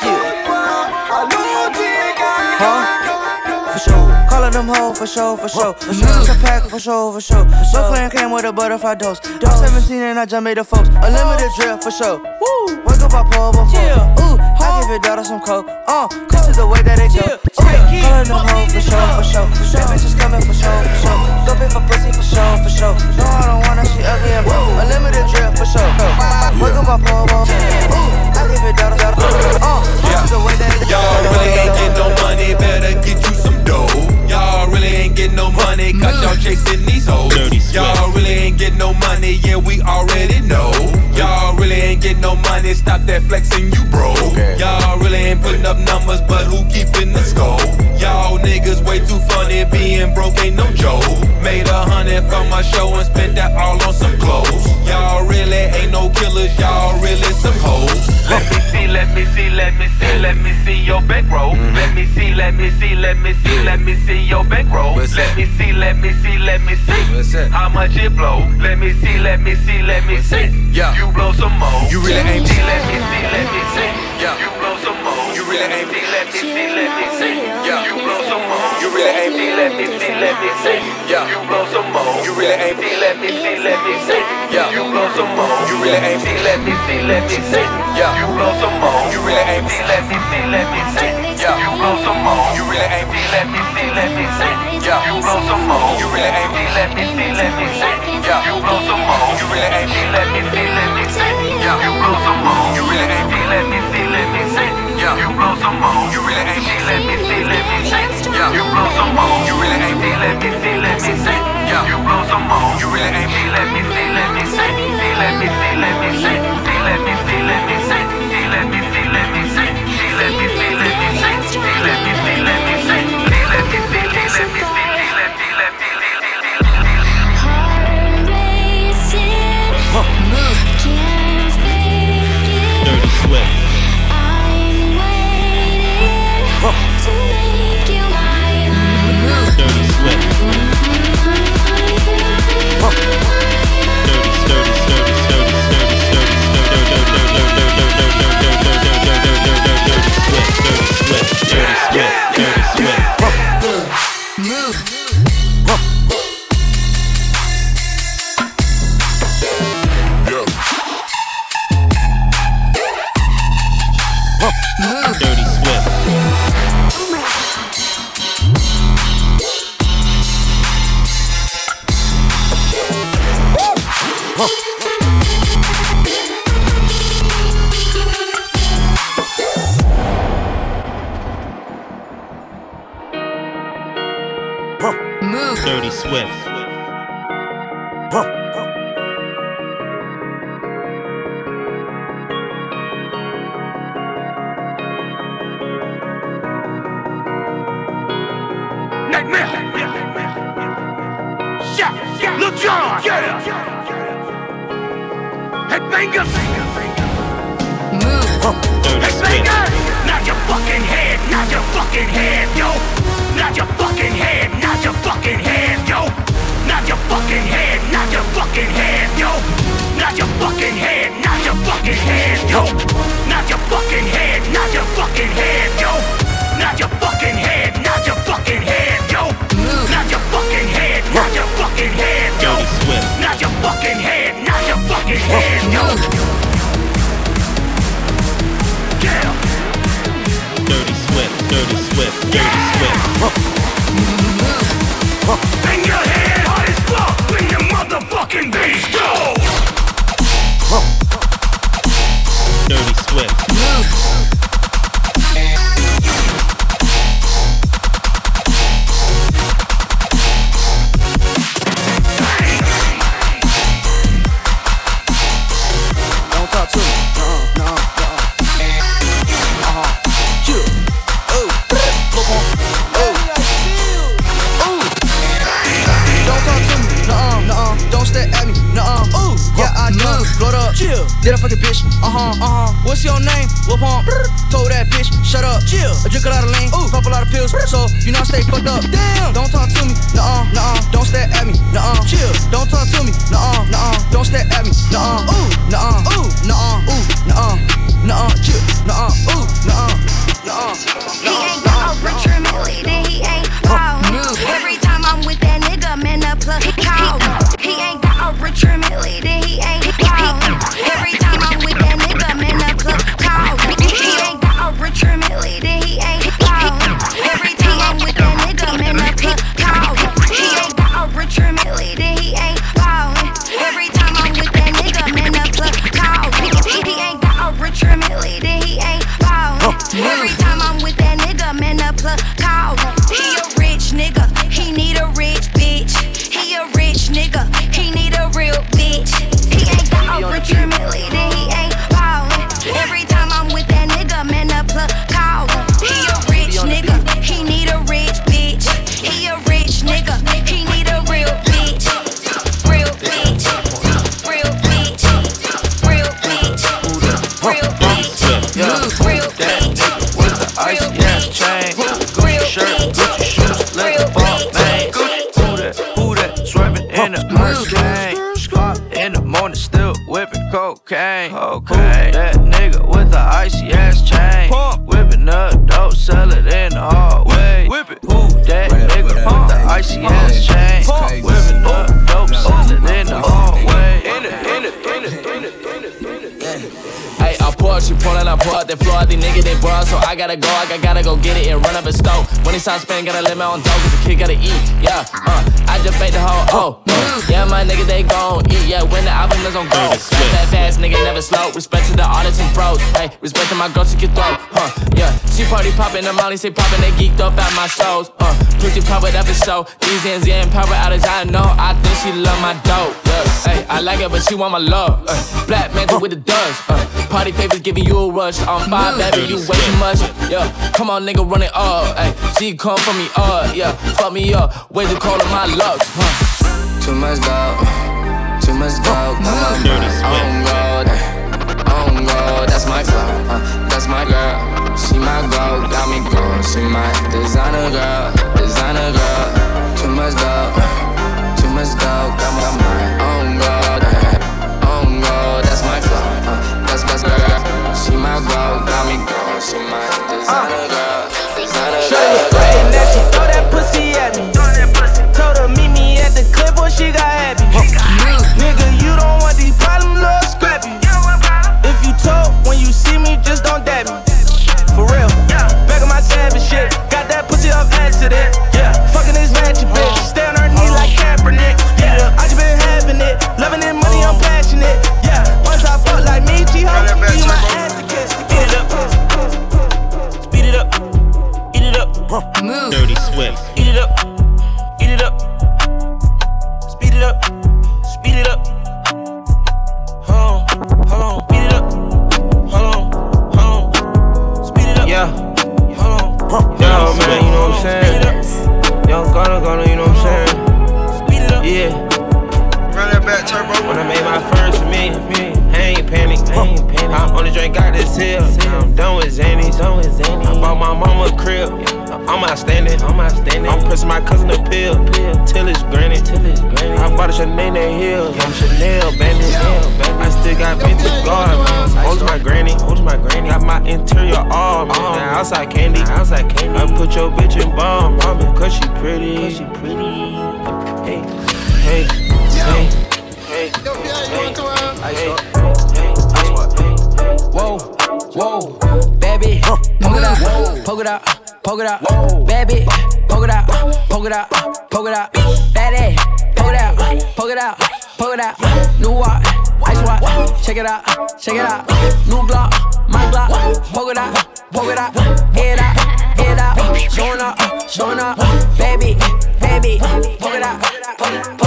huh? For sure, calling them hoes for sure, for sure. For sure, it's a pack for sure, for sure. So clean came with a butterfly dose. I'm seventeen and I just made the folks. A limited drip for sure. Woo, wake up, I pull over. Ooh, I give your daughter some coke. Uh, this is the way that it go. Calling them hoes for sure, for sure. That bitch is coming for sure, for sure. Go pay for pussy for sure, for sure. No, I don't want her, she ugly and broke. A limited drip for sure. Wake up, I pull over. Ooh, I give your daughter some coke. Uh, this is the way that it go. Y'all really ain't getting no money, better get you some dough. Y'all really ain't getting no money, cause y'all chasing these hoes. Y'all really ain't getting no money, yeah, we already know. Y'all really ain't getting no money, stop that flexing, you bro. Y'all really ain't putting up numbers, but who keeping the score? Y'all niggas way too funny, being broke ain't no joke. Made a hundred from my show and spent that all on some clothes. Y'all really ain't no killers, y'all really some hoes. Let me see, let me see, let me see, let me see your bankroll. Let me see, let me see, let me see, let me see your bankroll. Let me see, let me see, let me see how much it blow. Let me see, let me see, let me see. Yeah, you blow some more. You really ain't see, let me see, let me see. Yeah, you blow some more. You really ain't see, let me see, let me see. Yeah, you blow some more. You really ain't see, let me see, let me see. Yeah, you blow some more. You really ain't see, let me see, let me see. Yeah, you blow some more. You really ain't see, let me see, let me see. Yeah, you blow some more. You really ain't see, let me see, let me see. Yeah, you blow some more. You really ain't see, let me see, let me see. Yeah, you blow some more. You really ain't see, let me see, let me see. Yeah, you blow some more. You really ain't see, let me see, let me see. Yeah, you blow some more. You really ain't see, let me see, let me see. Yeah, you blow some more. You really ain't see, let me see, let me see. Yeah, you blow some more. You really ain't see, let me see, let me see. Yeah, you blow some more. You really ain't see, let me see, let me see. See, let me see, let me see. See, let me see, let me see. See, let me see, let me see. See, let me see, let me see. See, let me see, let me see. See, let me see, let me see. Let me see, let me see. Dirty Swift. Dirty Swift. Dirty, sturdy, sturdy, sturdy, sturdy, sturdy, sturdy, dirty Swift, dirty Swift, dirty Swift, dirty Swift. Move. Dirty Swift. Move. Dirty Swift. Nightmare. Yeah. Lil Jon, yeah. Headbanger. Move. Headbanger. Nod your fucking head, nod your fucking head, yo. Nod your fucking head, nod your fucking head, yo. Nod your fucking head, nod your fucking head, yo. Nod your fucking head, nod your fucking head, yo. Nod your fucking head, nod your fucking head, yo. Nod your fucking head, nod your fucking head, yo. Nod your fucking head, nod your fucking head, yo. Nod your fucking head, nod your fucking head, yo. Yeah. Dirty Swift, Dirty Swift, Dirty Swift. Bang your head hard as fuck when your motherfucking bass go. Dirty Swift. Don't talk to me. No, no, no. Uh-huh. Chill. Oh. Look on. Oh. Ooh. Don't talk to me. Nuh-uh, nuh-uh. Don't stare at me. Nuh-uh. Ooh. Yeah, I done. Blowed up. Chill. Did a fucking bitch. Uh-huh, uh-huh. What's your name? Whoop on. Told that bitch, shut up. Chill. I drink a lot of lean. Ooh. Pop a lot of pills. So, you know I stay fucked up. Damn. Don't talk to me. Nuh-uh, nuh-uh. Don't stare at me. Nuh-uh. Chill. Don't talk to me. Nuh-uh, nuh-uh. Don't stare at me. Nuh-uh. Ooh. Nuh-uh. Ooh. Nuh-uh. Ooh. Nuh-uh. Nuh-uh. Chill. Nuh-uh. Ooh. Nuh-uh. Nuh-uh. He ain't got a rich family, then he ain't ballin'. Every time I'm with that nigga, man, the plug callin'. He ain't got a rich family, then he ain't ballin'. Every time I'm with that nigga, man, the plug callin'. He ain't got a rich family, then he ain't ballin'. Every time I'm with that nigga, man, the plug callin'. He ain't got a rich family, then he ain't ballin'. Every time I'm with that nigga, man, the plug callin'. He ain't got a rich family, then he ain't ballin'. Every time I'm with that nigga, man, the plug callin'. He a rich nigga, he need a rich bitch. He a rich nigga, he need a real bitch. He ain't got a rich family, then he ain't ballin'. Every time I'm with that nigga, man, the plug callin'. He a rich nigga, he need a rich bitch. He a rich nigga, he need a real bitch. Real bitch, real bitch, real bitch, real bitch, real bitch. With the icy ass chain, Gucci shirt, Gucci shoes, let the ball bang. Who that? Who that? Swerving in the Mustang. In the morning, still whipping cocaine. Okay, that nigga with the icy ass chain, whipping up dope, sell it in the hallway. Whip it. Who that nigga with the icy ass chain, whipping up dope, sell it in the hallway. In it, in it, in it, in it, in it, in it. Hey, I pour, she pullin', I pour out that floor. These niggas, they broad, so I gotta go, I gotta go get it and run up a stove. When it's time spend, gotta limit on dough, cause the kid gotta eat, yeah, uh. I just bait the whole, oh, uh. Yeah, my nigga, they gon' eat, yeah, when the album is on go. Rap that fast, nigga, never slow. Respect to the artists and pros, hey, respect to my girls, she can throw, huh, yeah. She party poppin', the Molly say poppin', they geeked up at my shows, uh. Pussy pop it up and show, these ends, yeah, and power outage, I know, I think she love my dope, yeah. Hey, I like it, but she want my love, uh. Black mantle with the dust, uh. Party papers giving you a rush. I'm five, baby, you way too much. Yeah, come on, nigga, run it up. Ay, she come for me up. Yeah, fuck me up. Way to call on my luck. Huh. Too much gold, too much gold. Got my mind on gold, on gold. That's my flow, uh, that's my girl. She my gold, got me going. She my designer girl, designer girl. Too much gold, too much gold. Got my mind on gold, on gold. That's my flow. That's my girl. She my girl, got me going. She my designer girl, designer girl. Shorty afraid that she throw that pussy at me. Told her meet me at the clip, boy, she got happy. Nigga, you don't want these problems, little scrappy. If you told when you see me, just don't dab me. For real, back of my savage shit. Got that pussy off accident. Yeah, fucking this ratchet bitch. Stay on her knee like Kaepernick. Yeah, I just been having it, loving it, money, I'm passionate. Yeah, once I fuck like me, G-Ho, give you my ass to kiss. Speed it up, speed it up, eat it up. Move. Dirty Swift. Eat it up, eat it up. Speed it up, speed it up. Hold on, hold on, speed it up. Hold on, hold on, speed it up. Yeah, hold on. Yo, man, you know what I'm saying? Young Gunna, Gunna, you know what I'm saying? Speed it up. Yeah. got turbo. When I made my first million, I ain't panic. I only drink out this hill. I'm done with Zanny. I bought my mama a crib. I'm outstanding. I'm pressing my cousin a pill till it's granny. I bought a Chanel Hills. I'm Chanel bandit. I still got vintage guard. Hold my granny. Got my interior all. Now outside candy. I put your bitch in bomb. Cause she pretty. Hey, hey, hey, hey, hey, whoa, whoa, baby, poke it out, poke it out, poke it out, baby, poke it out, poke it out, poke it out, baby, poke it out, poke it out, poke it out, new watch, ice watch, check it out, check it out, new Glock, my Glock, poke it out, poke it out, head out, head out, showing up, showing up, baby, baby, poke it out, poke it out.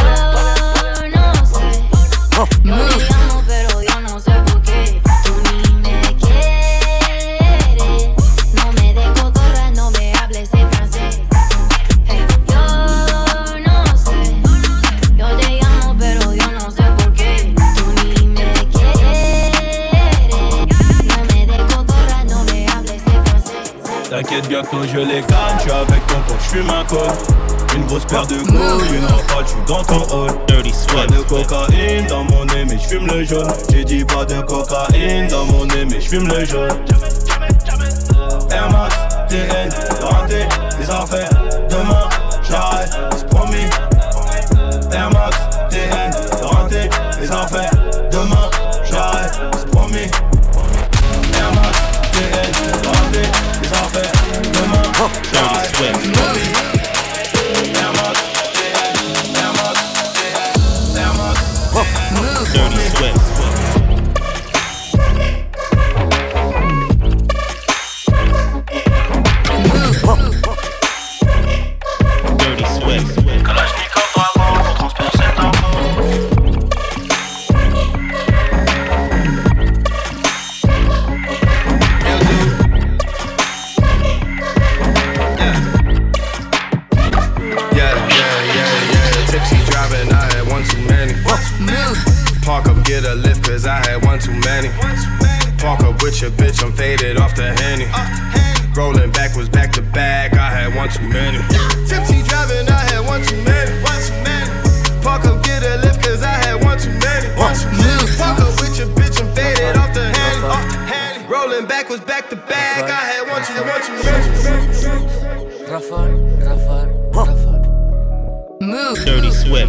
Yo te amo pero yo no sé por qué tú ni me quieres. No me des cotorra, no me hables de francés. Hey, yo no sé. Yo te amo pero yo no sé por qué tú ni me quieres. No me des cotorra, no me hables de francés. T'inquiète bientôt je les gagne, j'suis avec ton pote, j'fume un col. Une grosse paire de couilles, une rafale, j'suis dans ton hall. Pas de cocaïne dans mon nez, mais j'fume le jaune. J'ai dit pas de cocaïne dans mon nez, mais j'fume le jaune. Air Max, T N, raté, les affaires. Demain, j'arrête, c'est promis. Air Max, T N, raté, les affaires. Demain, j'arrête, c'est promis. Air Max, T N, raté, les affaires. Demain, j'arrête, c'est promis. Dirty Swift. Dirty Swift. Kalashnikov avant pour transpercer Yeah, yeah, yeah, yeah. Tipsy driving, I had one too many. Park up, get a lift, cause I had one too many. Park up with your bitch, I'm faded off the Henny. Rolling backwards, back to back, I had one too many. Tipsy driving, I had one too many. One too many. Park up, get a lift, cause I had one too many. One too many. Park up with your bitch, I'm faded off the Henny. Rolling backwards, back to back, I had one too, one too many. Rafale, Rafale, Rafale. Move. Dirty Swift.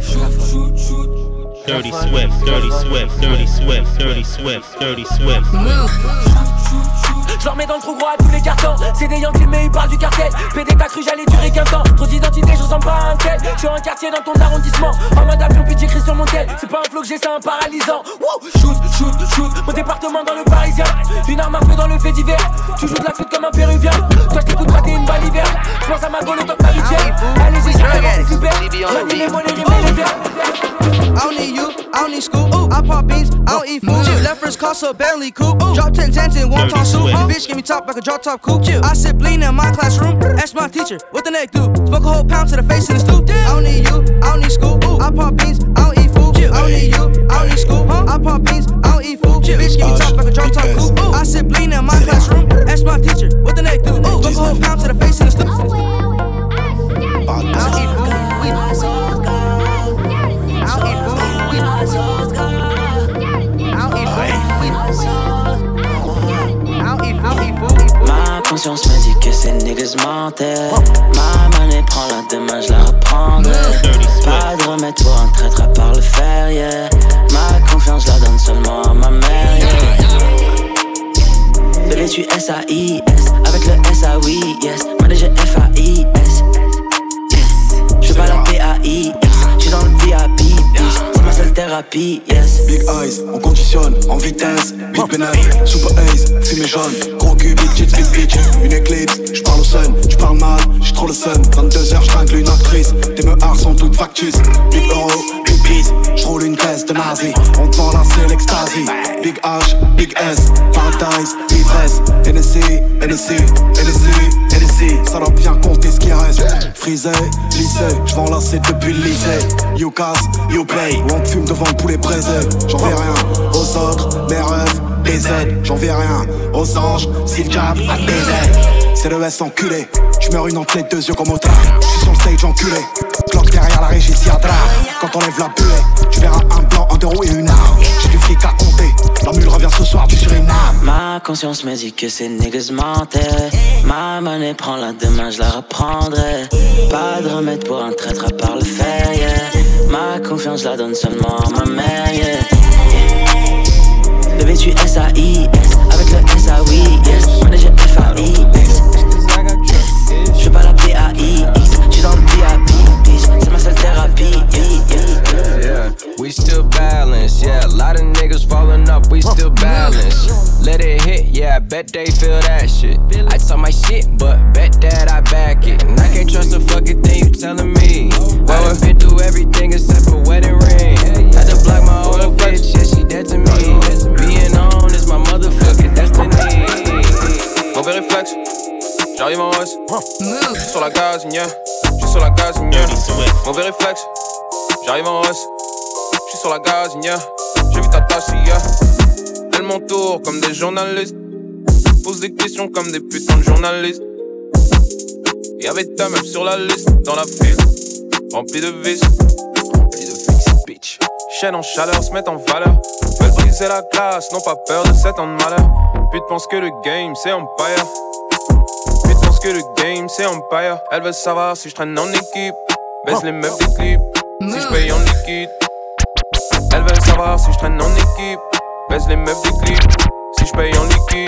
Dirty Swift, Dirty Swift, Dirty Swift, Dirty Swift, Dirty Swift. Move. Je leur mets dans le trou gros à tous les cartons. C'est des Yankees mais ils parlent du cartel. P D t'as cru j'allais durer qu'un temps. Trop d'identité je ressemble pas à un tel. Je suis un quartier dans ton arrondissement. En mode avion puis j'écris sur mon tel. C'est pas un flow que j'ai, c'est un paralysant. Woo! Shoot, shoot, shoot. Mon département dans le Parisien. Une arme à feu dans le fait divers. Tu joues de la flûte comme un péruvien. Toi je t'écoute pas t'es une balle hiver. Je pense à ma gueule autant que ma litière. Allez j'ai jamais c'est super. Manie les mots, les rimes et les verbes. I don't need you, I don't need scoop. Ooh, I pop beans, I don't eat food. Left first car, so barely coupe. Ooh, drop ten cents in one ton soup. Bitch, give me top like a drop top coupe. I sit lean in my classroom. Ask my teacher, what the neck do? Smoke a whole pound to the face in the stoop. I don't need you, I don't need scoop. Ooh, I pop beans, I don't eat food. I don't need you, I don't need scoop. I pop beans, I don't eat food. Bitch, give me top like a drop top coupe. Ooh, I sit lean in my classroom. Ask my teacher, what the neck do? Ooh, smoke a whole pound to the face in the stoop. I don't eat food. Ma conscience me dit que ces niggas mentaient. Ma monnaie prend la demain, je la reprendrai. Pas de remède pour un traître à part le fer, yeah. Ma confiance, je la donne seulement à ma mère, yeah. Bébé, tu S A I S, avec le S A oui, yes. Moi déjà F A I S, yes. J'fais pas la P A I S, j'suis dans le V I P, bitch. C'est ma seule thérapie, yes. Big eyes, on conditionne, en vitesse. Big pénètre, super ace, c'est mes jaunes. Gros cul, big tits, big bitch. Une éclipse, j'parle au sun, j'parle mal, j'suis trop le sun. vingt-deux heures, j'tringle une actrice. Tes meurs sont toutes factices. Big euro, big peace, j'roule une caisse de nazi. On te vend là, c'est l'extasie. Big H, big S, paradise, ivresse. N S C, N S C, N S C, N S C. Ça doit bien compter ce qui reste. frisé, lycée, j'vends lasser depuis le lycée. You casse, you pay, ou on fume devant le poulet braisé. J'en vais rien aux autres, mes rêves, des aides. J'en vais rien aux anges, si le diable a des ailes. C'est le S enculé, j'meurs une entrée, deux yeux comme au train. J'suis sur le stage enculé, cloque derrière la régie s'y adra. Quand on lève la buée, tu verras un blanc, un deux roues et une arme. J'ai du fric à compter, la mule revient ce soir du Suriname. Ma conscience me dit que ces niggas mentaient. Ma monnaie prend la demain, je la reprendrai. Pas de remède pour un traître à part le fer, yeah. Ma confiance, je la donne seulement à ma mère, yeah. Bébé, tu S A I S, avec le S A oui, yes. Manager F A I S. Je pas la P A I X, j'suis dans le V I P, bitch. C'est ma seule thérapie, yeah, yeah. Yeah, we still balance, yeah. A lot of niggas falling off, we still balance. Let it hit, yeah, I bet they feel that shit. I talk my shit, but bet that I back it. And I can't trust a fucking thing you telling me. Well, I've been through everything except for wedding ring. Had to block my old bitch, yeah, she dead to me. Being on is my motherfucking destiny. Mauvais réflexe, j'arrive en hausse. J'suis sur la gazine, yeah. J'suis sur la gazine, yeah. Mauvais réflexe, j'arrive en hausse. J'suis sur la gazine, yeah. J'ai vu ta tasse, yeah. Elles m'entourent comme des journalistes. Posent des questions comme des putains de journalistes. Y'avait ta meuf sur la liste, dans la file. Remplie de vis, remplie de vis, bitch. Chaîne en chaleur, se mettent en valeur. Veulent briser la glace, n'ont pas peur de sept ans de malheur. Pute pense que le game c'est Empire. Pute pense que le game c'est Empire. Elle veut savoir si je traîne en équipe. Baisse les meufs des clips, si je paye en liquide. Elle veut savoir si je traîne en équipe. Baisse les meufs des clips, si je paye en liquide.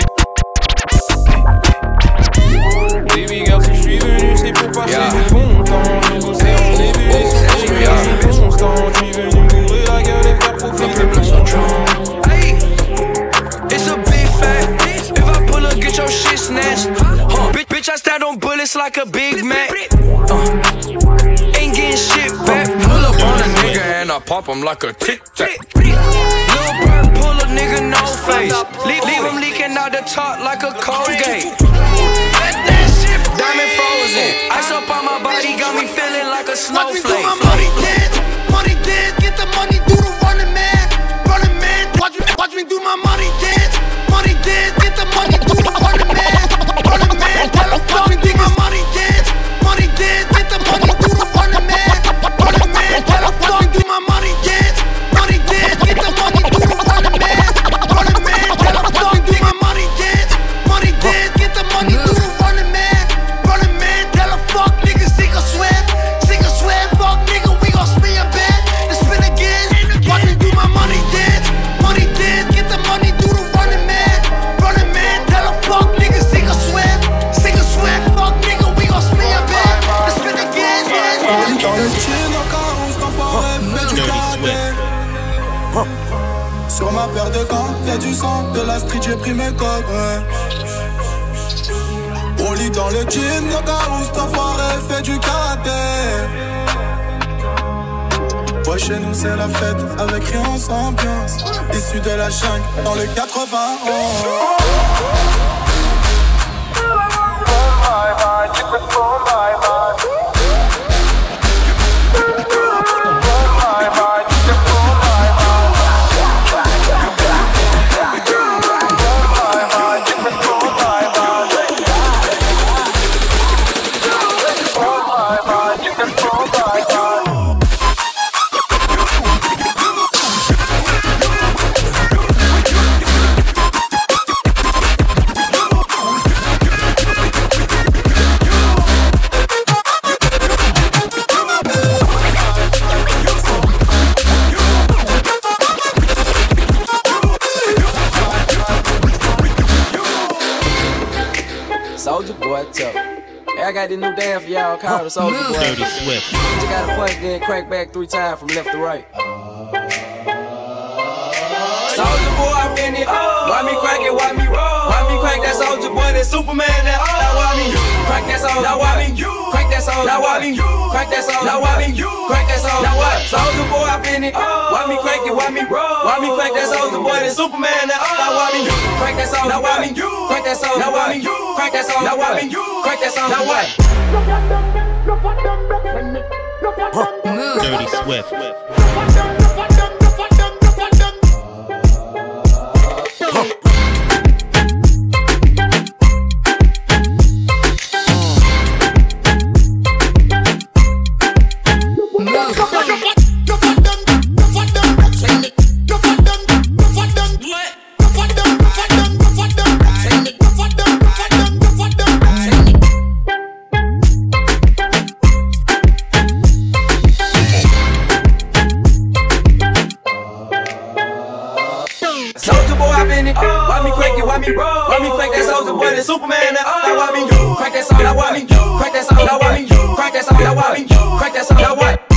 Baby girl, si je suis venu, c'est pour passer yeah. du bon temps. J'ai bossé en début, c'est du bon temps. Je suis venu mourir la gueule et faire pour faire le plus en train. Hey, it's a big fact. If I pull up, get your shit snatched. Huh. Bitch, bitch, I stand on bullets like a Big Mac. Uh, ain't getting shit back. Pull up on a nigga and I pop him like a Tic Tac. Lil' Bird, pull a nigga, no face. Leave, leave him leaking out the top like a Colgate. Diamond frozen, ice up on my body, got me feeling like a snowflake. Watch me do my money dance, money dance, get the money, do the running man, running man. Watch me, watch me do my money dance, money dance, get the money, do the running man, running man. Watch me do my money dance, money dance, get the money, do the running man, running man. Watch me do my money dance, money dance, get the money, do the running man, running man. Watch me do my money dance, money dance, get the money, do the running man. Fuck niggas, sick or sweat, sick or sweat, fuck nigga, we gon' spin your bed and spin again. Watch me do my money dance, money dance, get the money, do the running man, running man. Tell a fuck nigga, sick or sweat, sick or sweat, fuck nigga, we gon' spin your bed and spin again. Dans le chin, au carrosse, t'enfoiré, fais du karaté. Sur ma paire de gants, y'a du sang, de la street, j'ai pris mes codes, ouais. Au lit dans le jean, le carousse, t'enfoiré, fait du karaté. Ouais, chez nous c'est la fête, avec rien sans ambiance. Issu de la jungle, dans le quatre-vingt-onze. Soulja Boy, tell. Hey, I got this new dance for y'all called the Soulja Boy. Dirty Swift. You gotta punch, then crank back three times from left to right. Soulja Boy, I'm in it. Why me crank it? Why me roll? Why me crank that Soulja Boy? That Superman? That oh. Now why me crank that Soulja? Now why me crank that Soulja? Now why me crank that Soulja? Now why me crank that Soulja? Now what? Soulja Boy, I'm in it. Why me crank it? Why me roll? Why me crank that Soulja Boy? That Superman? That oh. Now why me crank that Soulja? Now why me crank that Soulja? Now why me crank that Soulja? Now why me crank that Soulja? Now what? Dirty Swift. Why me crank that soldier boy, the Superman? Now why me crank that song? Now why me crank that song? Now why me crank that song? Now why me crank that song? Now what?